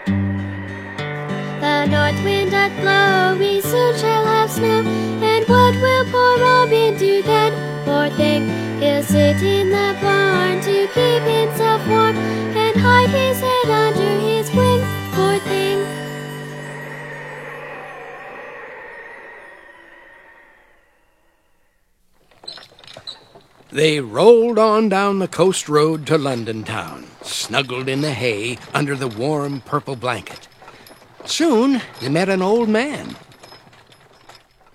The north wind doth blow, we soon shall have snow. And what will poor Robin do then? Poor thing, he'll sit in the barn to keep himself warm, and hide his head under his wing, poor thing. They rolled on down the coast road to London town, snuggled in the hay under the warm purple blanket. Soon they met an old man